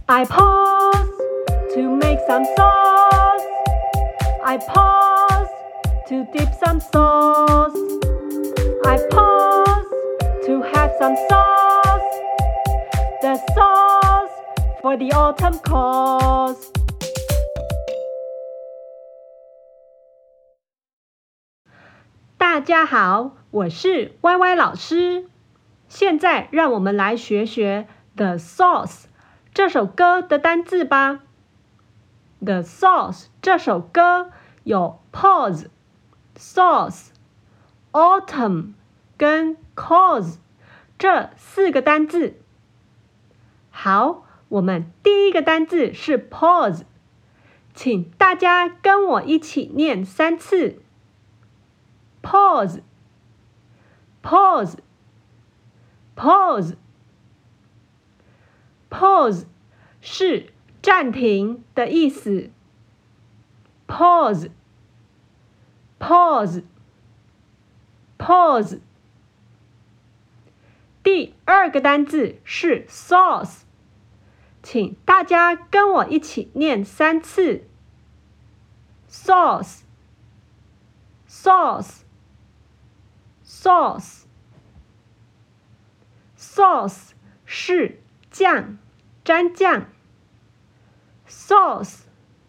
I pause to make some sauce. I pause to dip some sauce. I pause to have some sauce. The sauce for the autumn calls. 大家好，我是歪歪老師。現在讓我們來學學 The Sauce 這首歌的單字吧。The Sauce 這首歌有 pause、sauce、autumn 跟 cause 這4個單字。好，我們第一個單字是 pause， 請大家跟我一起念3次。Pause, pause, pause, pause 是暫停的意思。Pause, pause, pause。第2個單字是 sauce， 請大家跟我一起念3次。Sauce, sauce.Sauce 是醬，蘸醬。Sauce。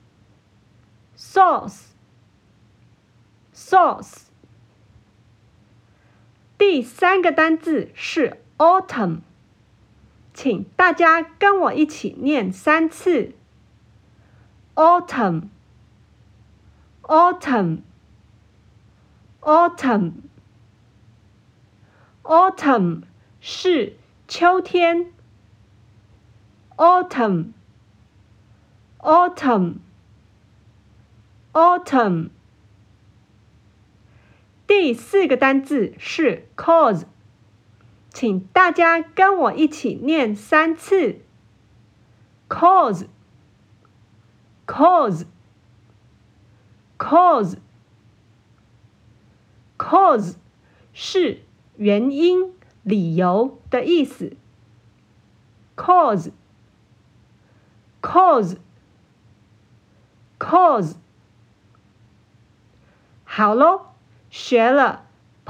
第3個單字是 autumn， 請大家跟我一起念3次。Autumn 是秋天。Autumn。第4個單字是 cause， 請大家跟我一起念3次。Cause。Cause 是原因、理由的意思。Cause。好咯，學了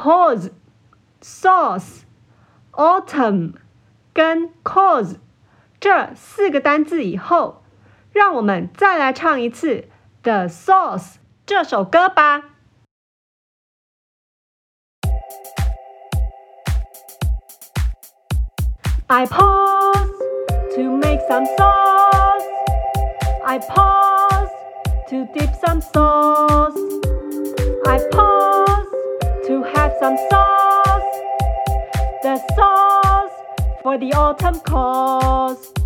pause、sauce、autumn 跟 cause 這4個單字以後，讓我們再來唱一次 The Sauce 這首歌吧。I pause to make some sauce. I pause to dip some sauce. I pause to have some sauce. The sauce for the autumn calls.